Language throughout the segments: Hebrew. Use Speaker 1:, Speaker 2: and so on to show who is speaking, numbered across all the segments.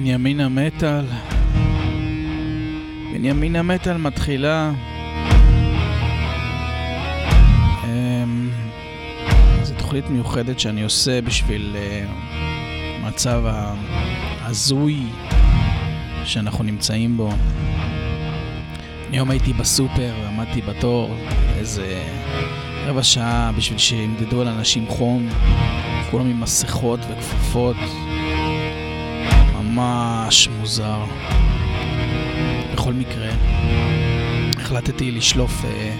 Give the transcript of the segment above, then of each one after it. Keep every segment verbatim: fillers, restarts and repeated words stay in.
Speaker 1: בנימין המטל. בנימין המטל מתחילה. זו תוכנית מיוחדת שאני עושה בשביל מצב הזוי שאנחנו נמצאים בו. היום הייתי בסופר ועמדתי בתור איזה רבע שעה בשביל שימדדו על אנשים חום, כולם עם מסכות וכפפות. ממש מוזר. בכל מקרה החלטתי לשלוף אה,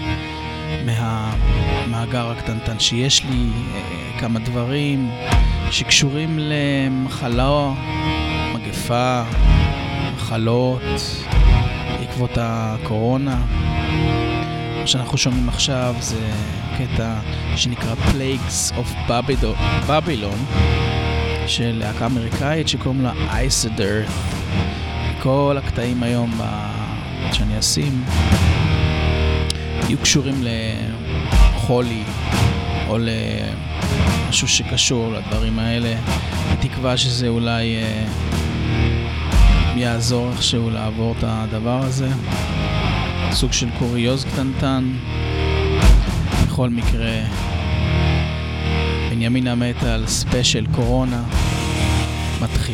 Speaker 1: מהמאגר הקטנטן שיש לי אה, כמה דברים שקשורים למחלה, מגפה, מחלות בעקבות הקורונה. מה שאנחנו שומעים עכשיו זה קטע שנקרא Plagues of Babylon של להקה אמריקאית שקוראים לה אייסדר. כל הקטעים היום שאני אשים יהיו קשורים לחולי או למשהו שקשור לדברים האלה, בתקווה שזה אולי יעזור איכשהו לעבור את הדבר הזה, סוג של קוריוז קטנטן. בכל מקרה, בנימין המטל ספיישל קורונה מתחיל.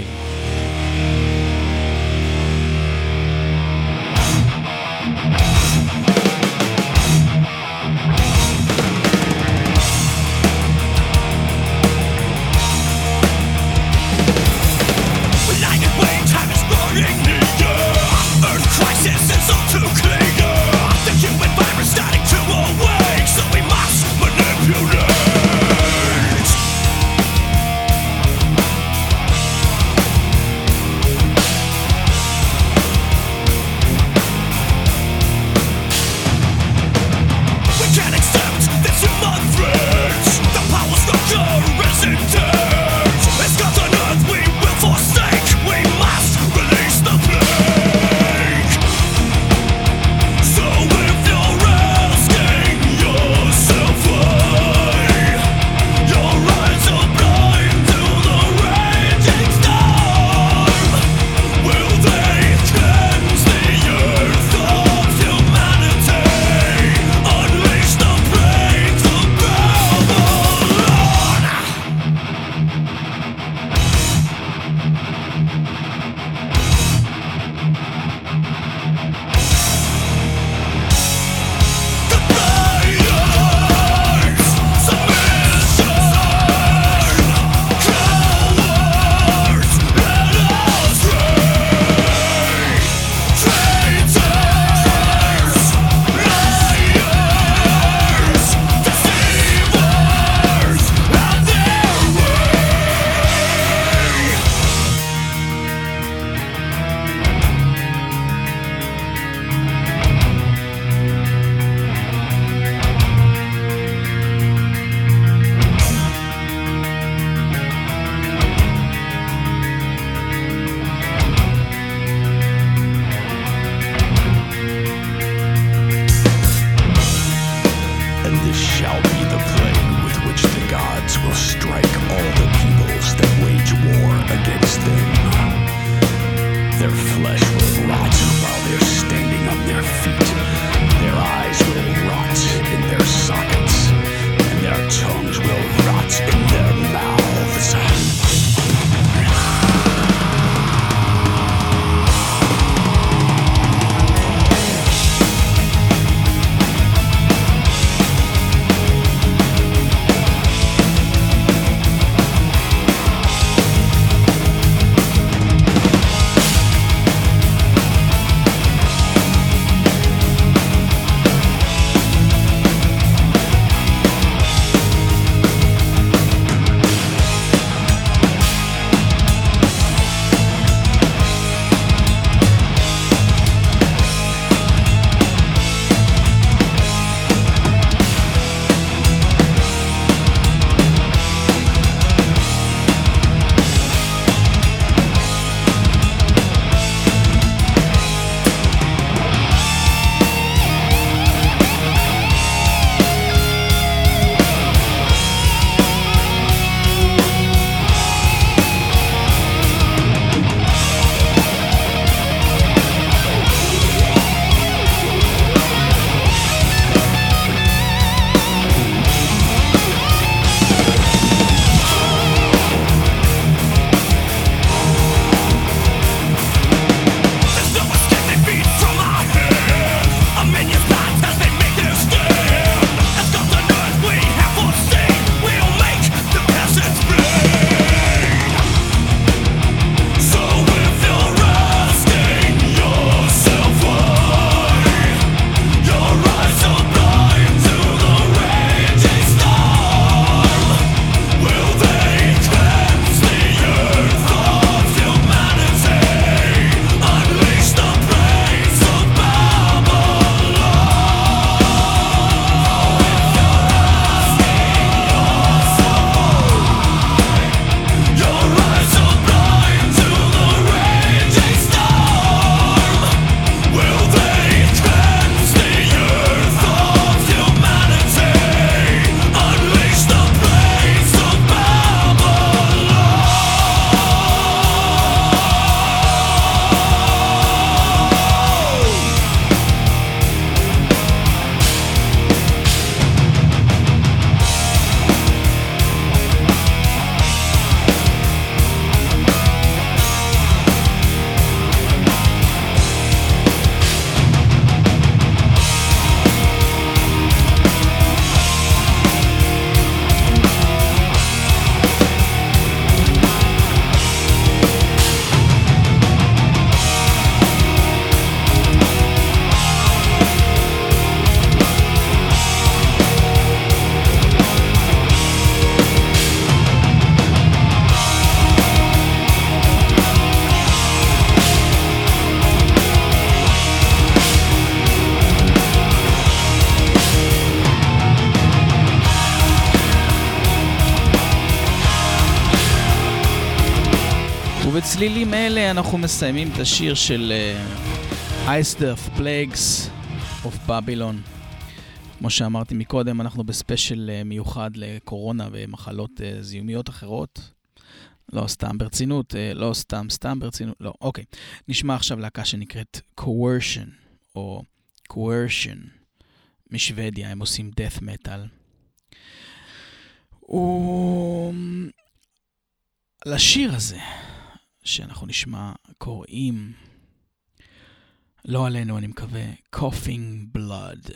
Speaker 1: ובצלילים אלה אנחנו מסיימים את השיר של uh, Ice Death Plagues of Babylon. כמו שאמרתי מקודם, אנחנו בספיישל uh, מיוחד לקורונה ומחלות uh, זיהומיות אחרות. לא סתם ברצינות, uh, לא סתם, סתם ברצינות, לא, אוקיי. נשמע עכשיו להקה שנקראת Coercion, או Coercion, משוודיה, הם עושים death metal. ו... לשיר הזה שאנחנו נשמע קוראים, לא עלינו אני מקווה, Coughing Blood.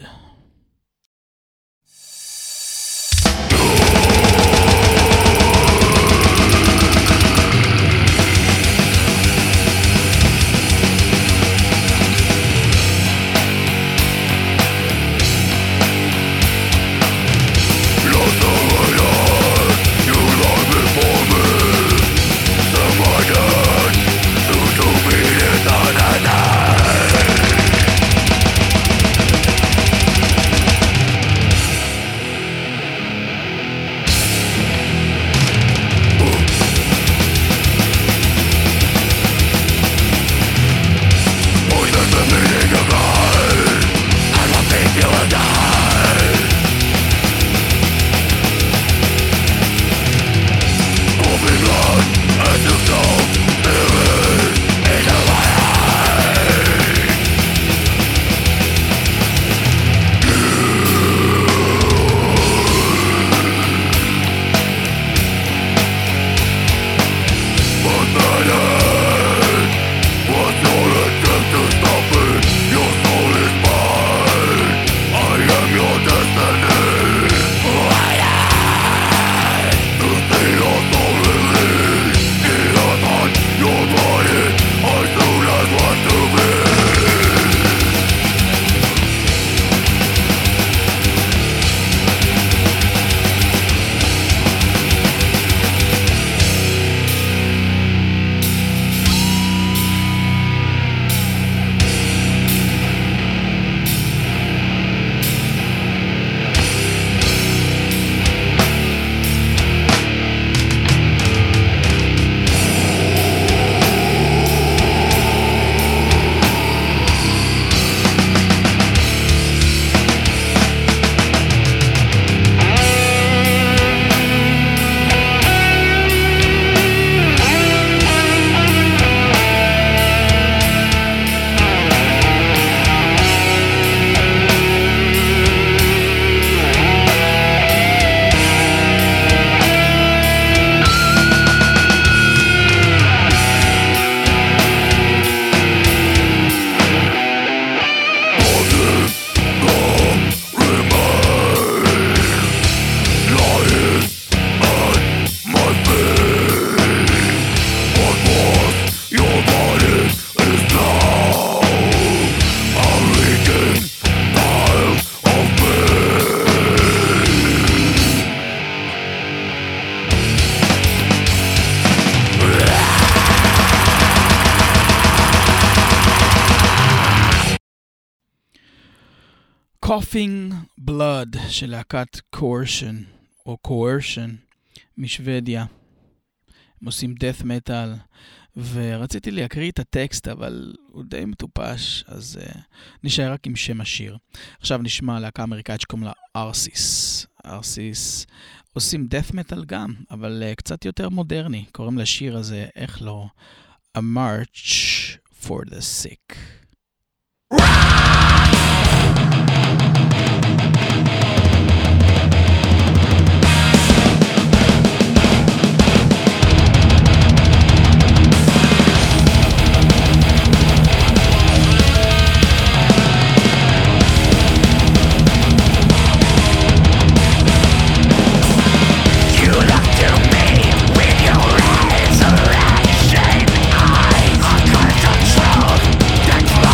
Speaker 1: Coughing Blood של להקת Coercion או Coercion משוודיה. הם עושים death metal, ורציתי להקריא את הטקסט אבל הוא די מטופש, אז uh, נשאר רק עם שם השיר. עכשיו נשמע להקה אמריקאית שקוראים לה ארסיס. ארסיס עושים death metal גם, אבל uh, קצת יותר מודרני. קוראים לשיר הזה, איך לא, A March for the Sick.
Speaker 2: Resurrection eyes, uncontrolled, that's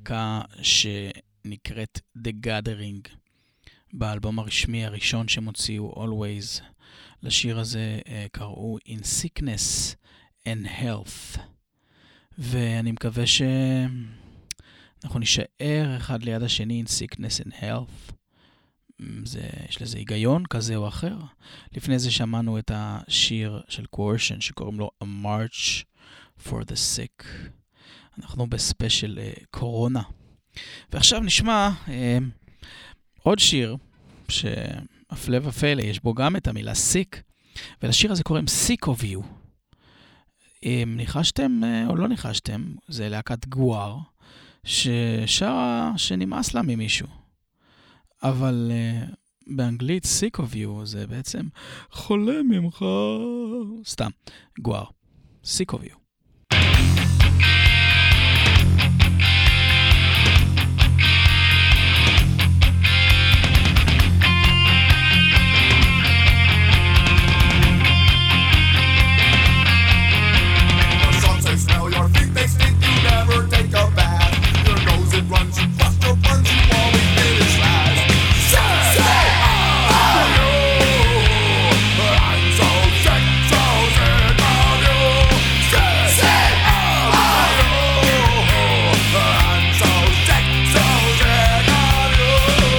Speaker 1: להקה שנקראת The Gathering, באלבום הרשמי הראשון שהם הוציאו, Always. לשיר הזה uh, קראו In Sickness and Health. ואני מקווה שאנחנו נשאר אחד ליד השני In Sickness and Health. זה, יש לזה היגיון כזה או אחר. לפני זה שמענו את השיר של Coercion שקוראים לו A March for the Sick. אנחנו בספיישל uh, קורונה. ועכשיו נשמע uh, עוד שיר שהפלא ופלא יש בו גם את המילה sick, ולשיר הזה קוראים Sick of You. אם ניחשתם uh, או לא ניחשתם, זה להקת גואר ששרה שנמאס לה ממישהו. אבל uh, באנגלית sick of you זה בעצם חולה ממך. סתם, גואר. sick of you.
Speaker 2: Runs, you bust your buns, you always finish last. Say, say, oh, you, I'm so sick, so sick of you. Say, say, oh, you, I'm so sick, so sick of you.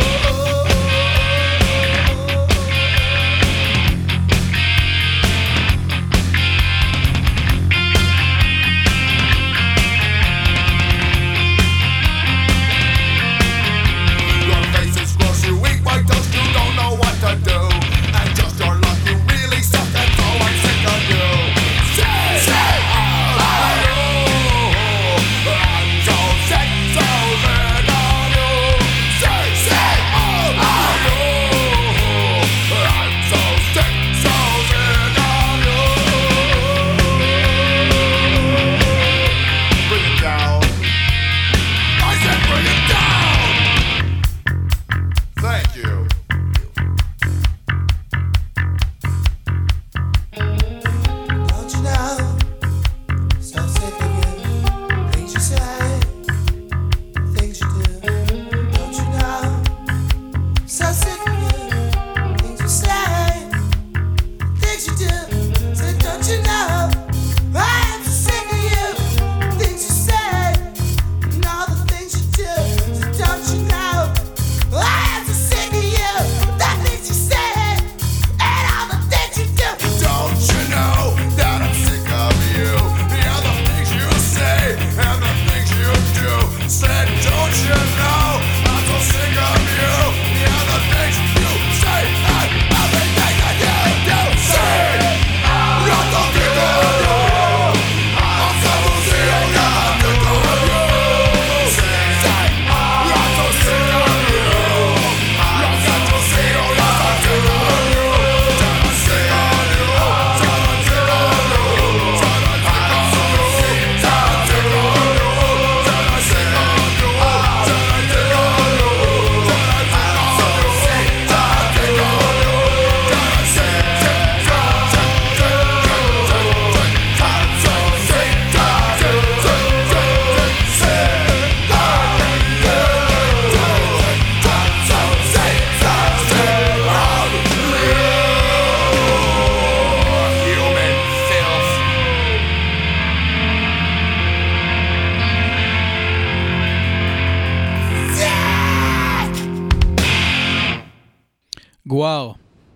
Speaker 1: גואר,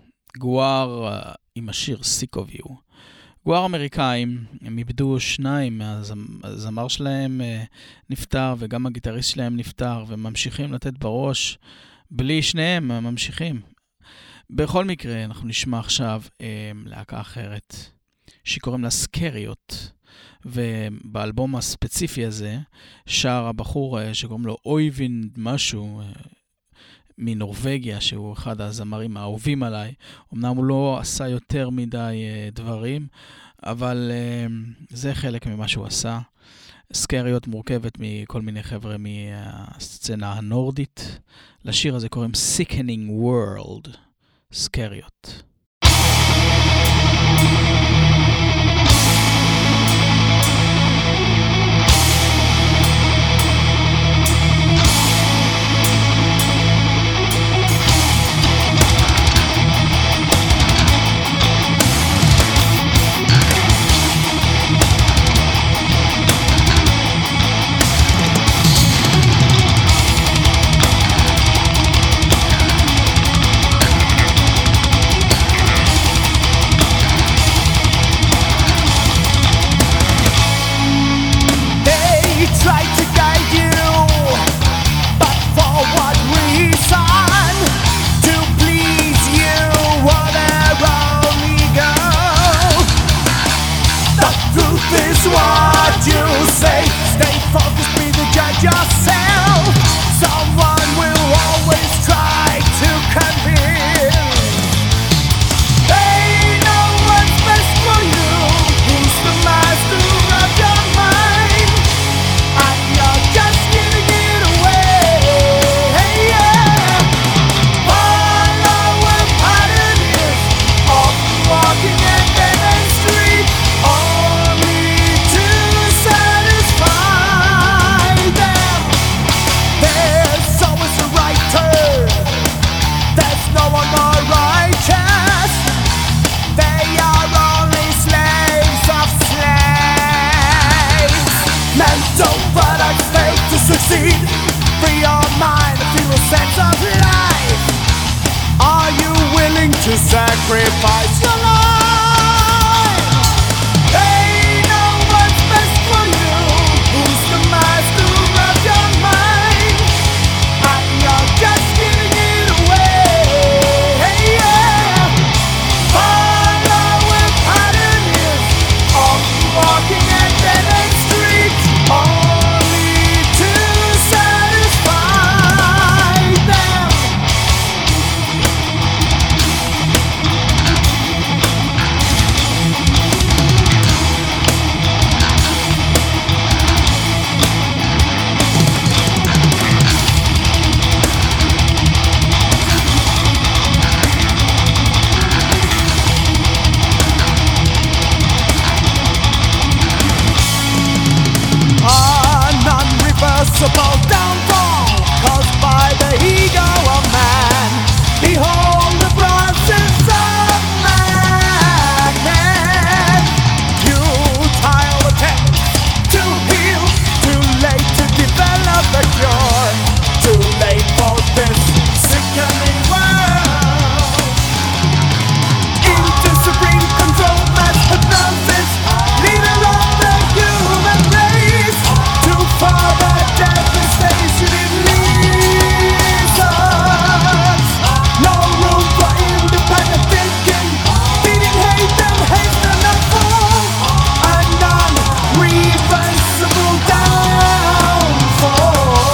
Speaker 1: גואר uh, עם השיר Sick of You. גואר אמריקאים, הם איבדו שניים, הזמר שלהם uh, נפטר וגם הגיטריסט שלהם נפטר, וממשיכים לתת בראש, בלי שניהם ממשיכים. בכל מקרה, אנחנו נשמע עכשיו uh, להקה אחרת, שקוראים לה סקריות, ובאלבום הספציפי הזה, שר הבחור uh, שקוראים לו אויווין משהו, uh, מנורווגיה, שהוא אחד הזמרים האהובים עליי. אמנם הוא לא עשה יותר מדי uh, דברים, אבל uh, זה חלק ממה שהוא עשה. סקריות מורכבת מכל מיני חבר'ה מהסצנה הנורדית. לשיר הזה קוראים Sickening World. סקריות.
Speaker 2: free your mind and feel a sense of life. Are you willing to sacrifice your life? They know what's best for you. Who's the master of your mind? And you're just giving it away. Hey, yeah. Follow where pattern is. All walking and dead end streets. Only to satisfy them. An unreversible downfall caused by the ego of man. Behold the process of madness. Futile attempts to heal. Too late to develop a cure. Too late for this sickening world. Into supreme control, mass hypnosis, leader of the human race. To further devastation it leads us. No room for independent thinking. Feeding hate and hate and a fall. An unreversible downfall.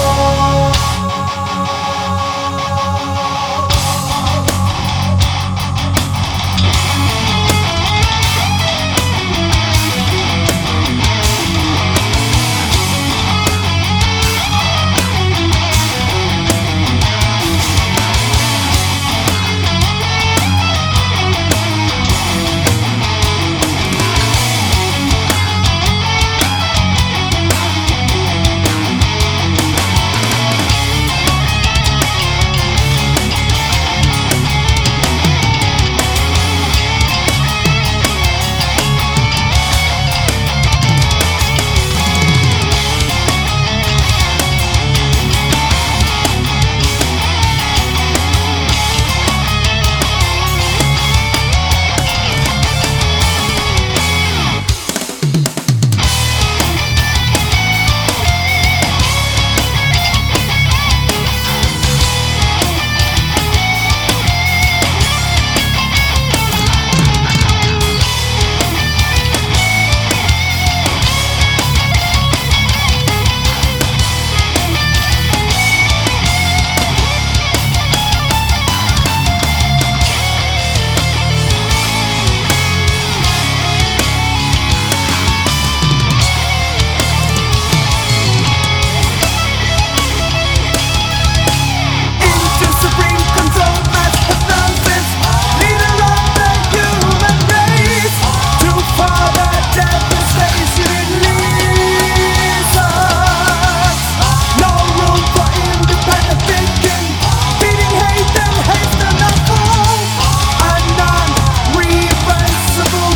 Speaker 2: Into supreme control, mass hypnosis, leader of the human race. To further devastation it leads us. No room for independent thinking. Feeding hate and hate and a fall. An unreversible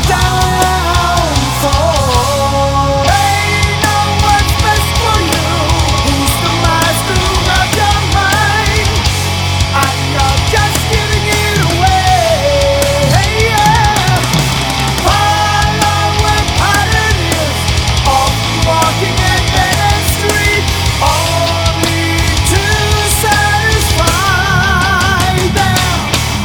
Speaker 2: downfall. They know what's best for you. Who's the master of your mind? And you're just giving it away. Hey, yeah. Follow where pattern is. All walking a dead end street. Only to satisfy them.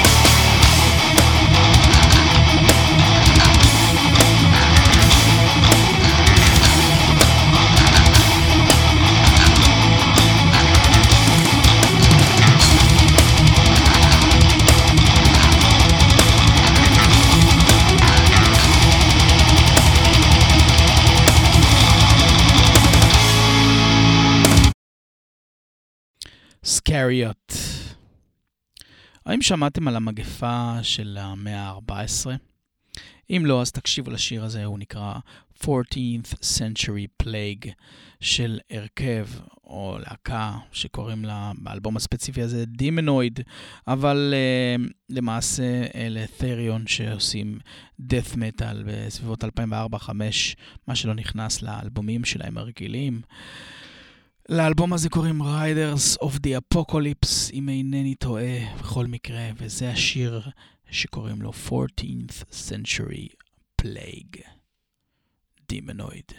Speaker 1: סקריוט. האם שמעתם על המגפה של המאה ה-ארבע עשרה? אם לא, אז תקשיבו לשיר הזה, הוא נקרא fourteenth Century Plague של הרכב או להקה שקוראים לה באלבום הספציפי הזה דימנויד, אבל uh, למעשה אלה ת'ריון שעושים death metal בסביבות אלפיים וארבע אלפיים וחמש, מה שלא נכנס לאלבומים שלהם הרגילים. לאלבום הזה קוראים Riders of the Apocalypse, אם אינני טועה בכל מקרה, וזה השיר שקוראים לו fourteenth Century Plague, Demonoid.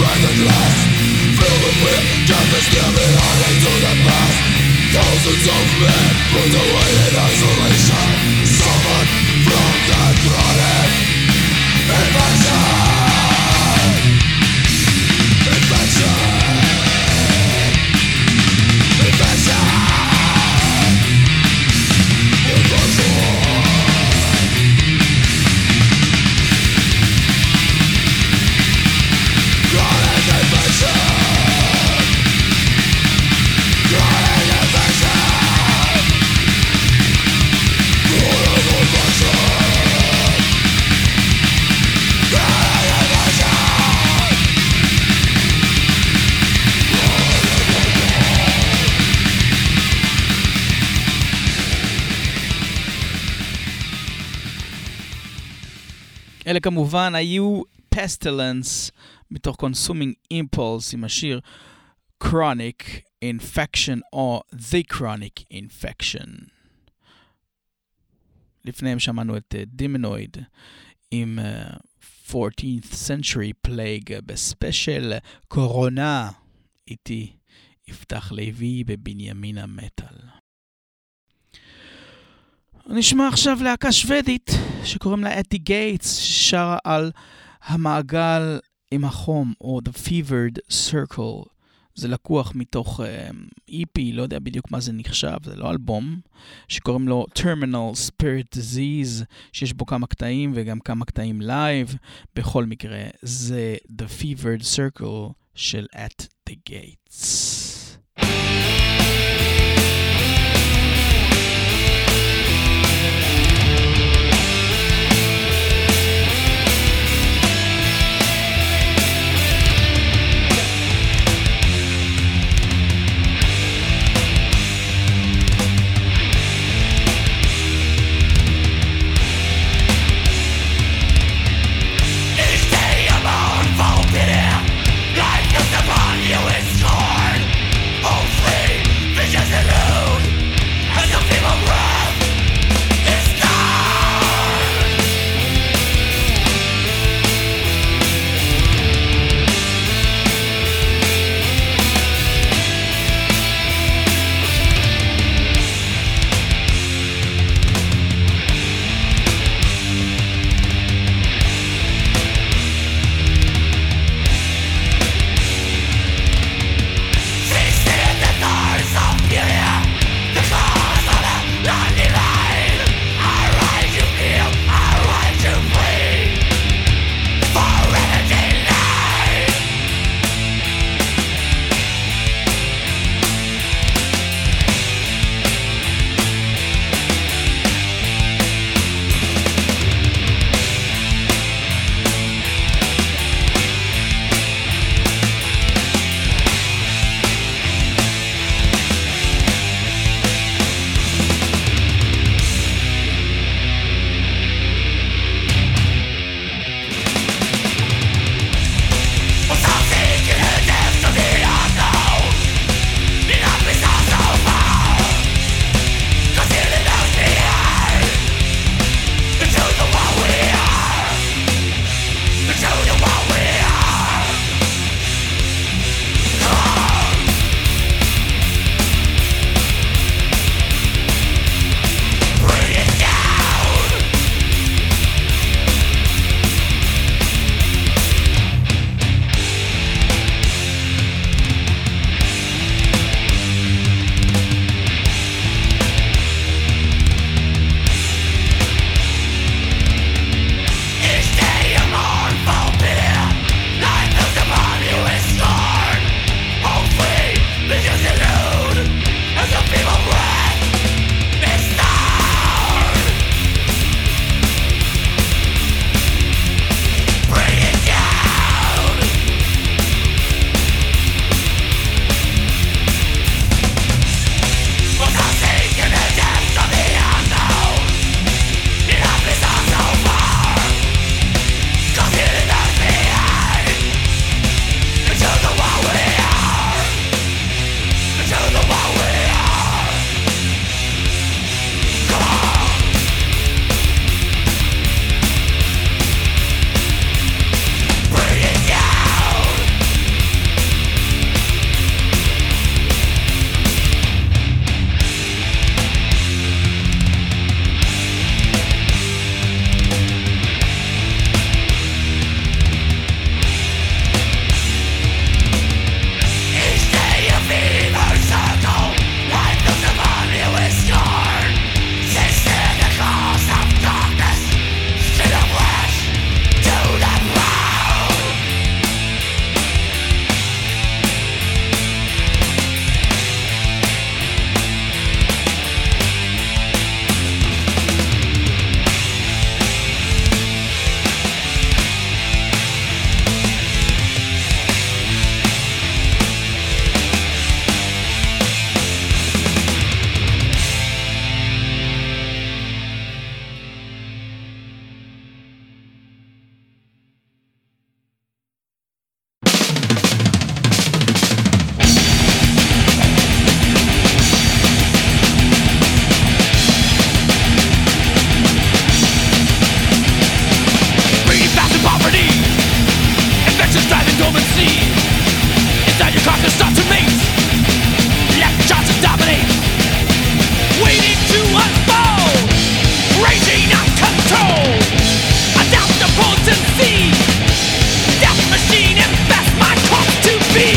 Speaker 1: אלה כמובן היו Pestilence מתוך Consuming Impulse עם השיר Chronic Infection או The Chronic Infection. לפניהם שמענו את uh, Demonoid עם uh, fourteenth Century Plague בספיישל קורונה. איתי יפתח לוי בבנימין המטל. נשמע עכשיו להקה שוודית שקוראים לה At the Gates, שרה על המעגל עם החום, או The Fevered Circle. זה לקוח מתוך E P, לא יודע בדיוק מה זה נחשב, זה לא אלבום, שקוראים לו Terminal Spirit Disease, שיש בו כמה קטעים וגם כמה קטעים לייב. בכל מקרה, זה The Fevered Circle של At the Gates.
Speaker 2: Upon you is scorn. be.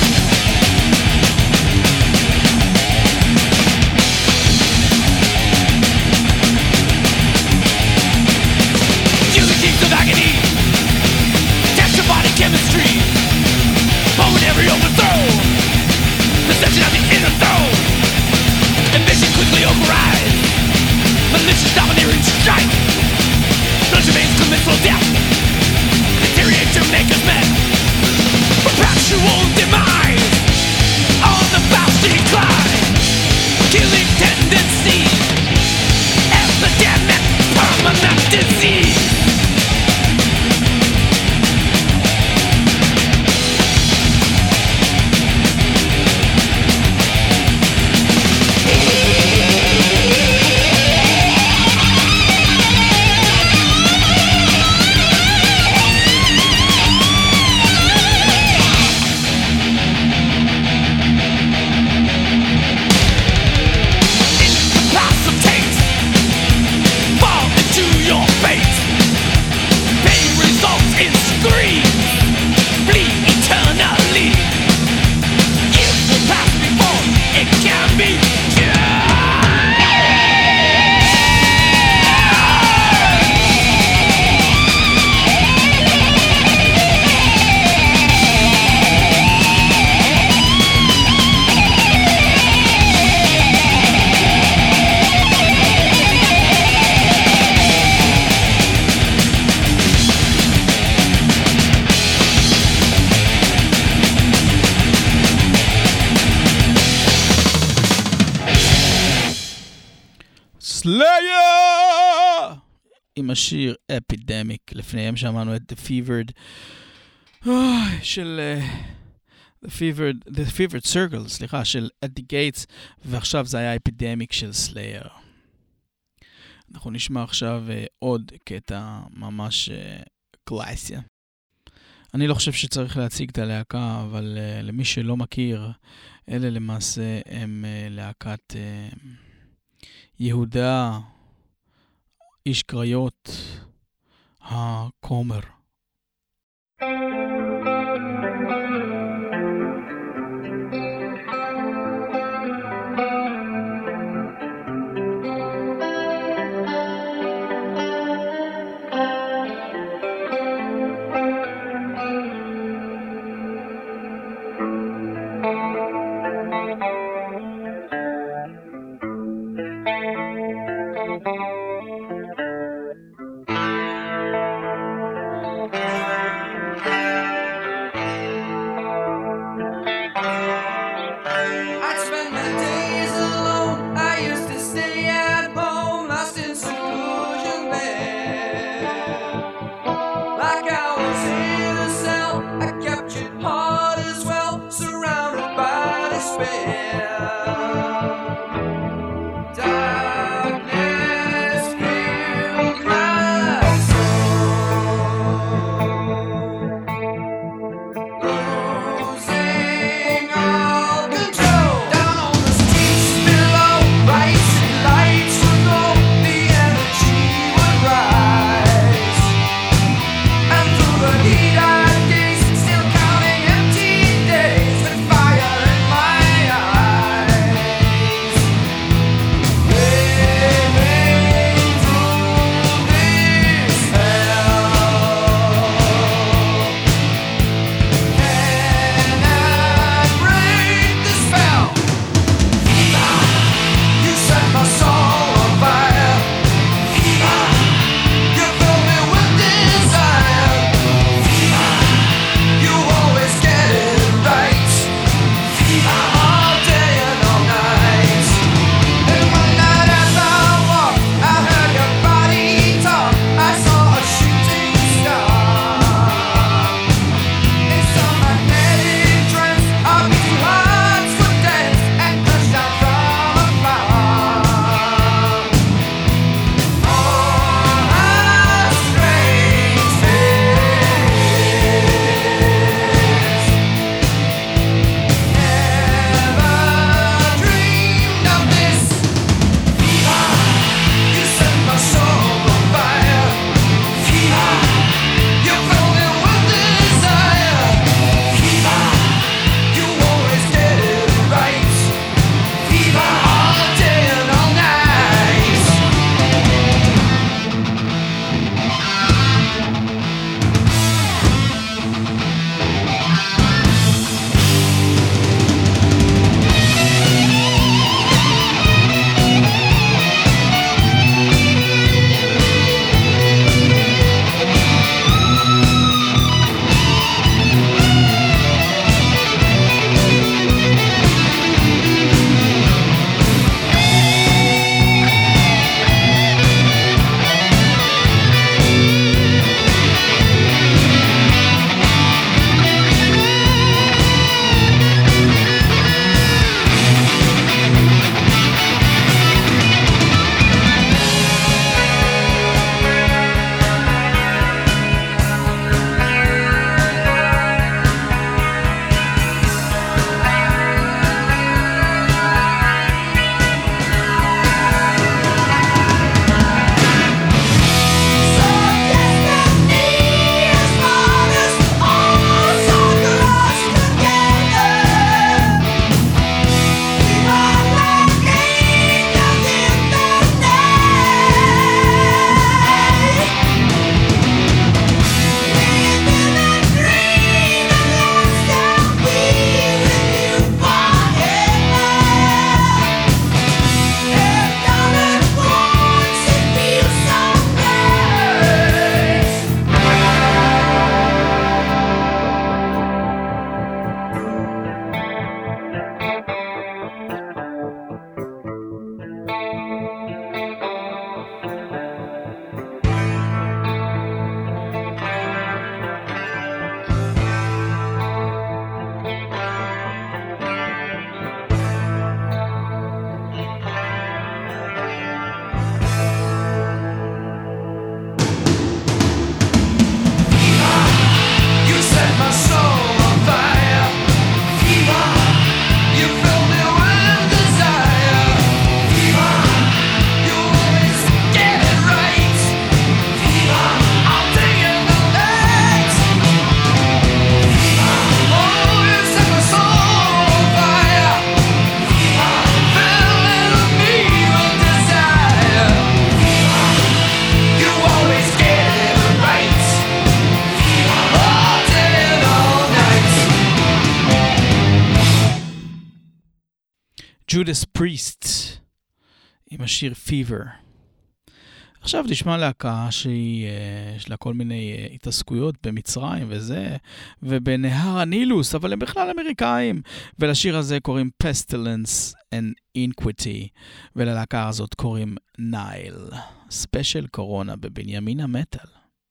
Speaker 2: Eulogies of agony, test your body chemistry, moment every overthrow, the section of the inner throne, ambition quickly overrides, malicious domineering strike, blood remains commensal death, deteriorate to make us men, perpetual demise, on the fast decline, killing tendency, epidemic, permanent disease.
Speaker 1: סלייר! עם השיר אפידמיק, לפניהם שמענו את The Fevered של uh, The Fevered The Fevered Circle, סליחה, של At the Gates, ועכשיו זה היה אפידמיק של סלייר. אנחנו נשמע עכשיו uh, עוד קטע ממש uh, קלאסיה. אני לא חושב שצריך להציג את הלהקה, אבל uh, למי שלא מכיר, אלה למעשה הם uh, להקת uh, יהודה, איש קריות, הכומר. Judas Priest עם השיר Fever. עכשיו נשמע להקה שיש לה כל מיני התעסקויות במצרים וזה, ובנהר הנילוס, אבל הם בכלל אמריקאים. ולשיר הזה קוראים Pestilence and Iniquity, וללהקה הזאת קוראים Nile. ספיישל קורונה בבנימין המטל.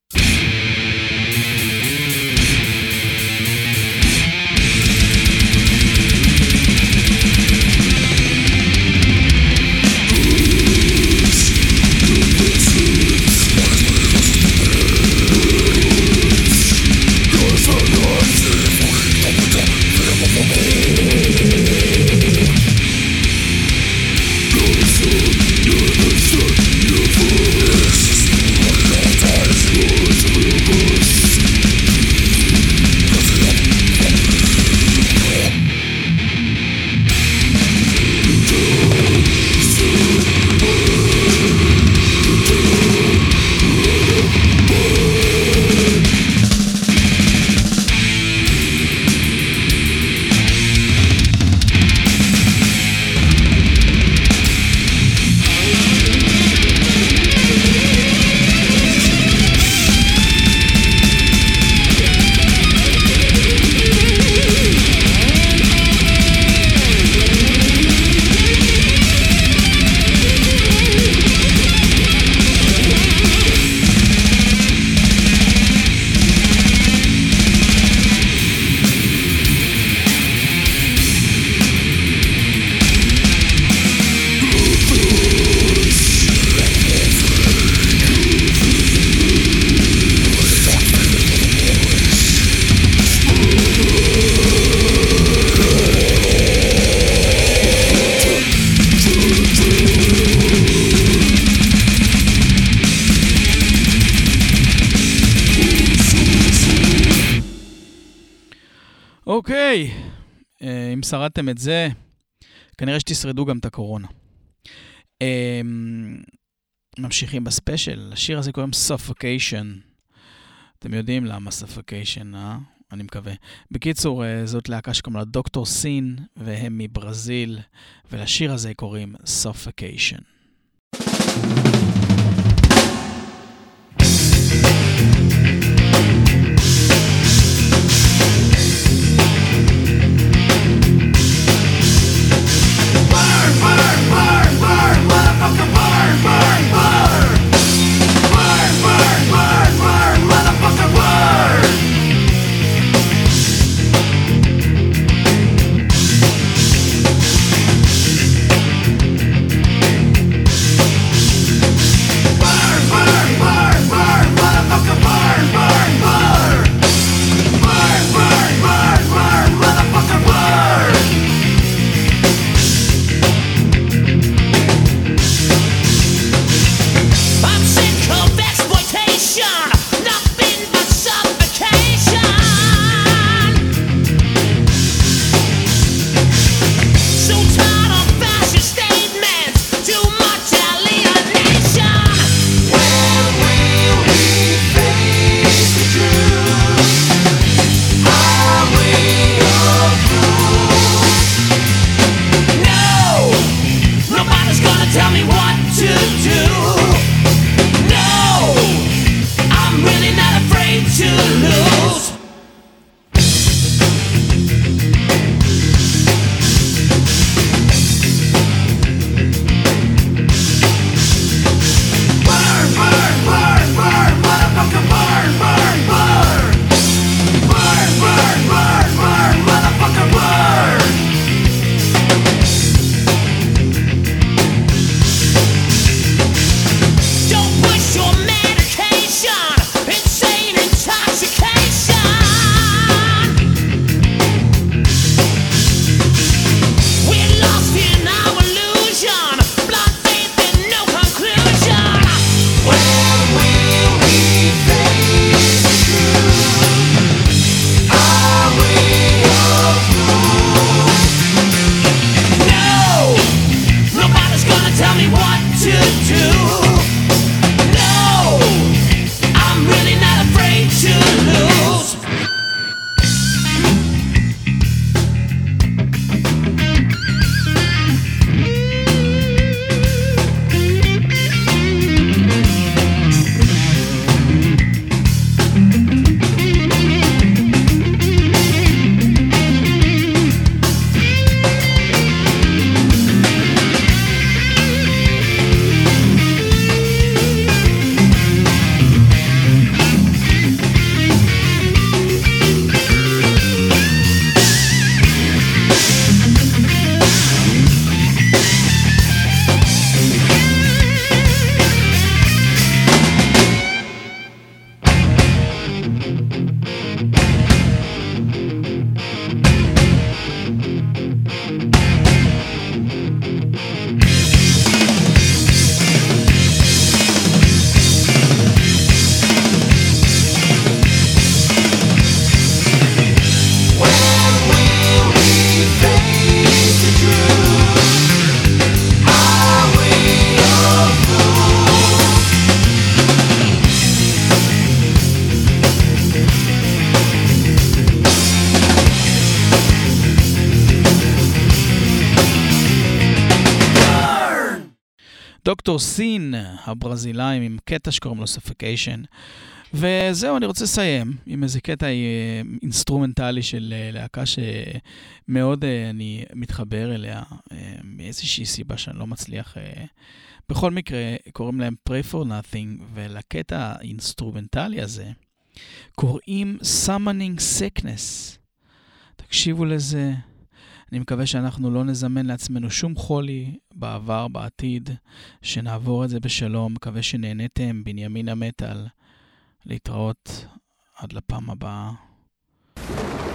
Speaker 1: אוקיי, אם שרדתם את זה, כנראה שתשרדו גם את הקורונה. ממשיכים בספיישל, השיר הזה קוראים Suffocation. אתם יודעים למה Suffocation, אה? אני מקווה. בקיצור, זאת להקה שקוראים לה דוקטור סין, והם מברזיל, ולשיר הזה קוראים Suffocation.
Speaker 2: Burn,
Speaker 1: דוקטור סין, הברזילאים, עם קטע שקוראים לו Suffocation. וזהו, אני רוצה לסיים עם איזה קטע אינסטרומנטלי של להקה שמאוד אני מתחבר אליה, מאיזושהי סיבה שאני לא מצליח. בכל מקרה, קוראים להם Pray for Nothing, ולקטע האינסטרומנטלי הזה קוראים Summoning Sickness. תקשיבו לזה. אני מקווה שאנחנו לא נזמן לעצמנו שום חולי בעבר, בעתיד, שנעבור את זה בשלום. מקווה שנהנתם. בנימין המטל. להתראות עד לפעם הבאה.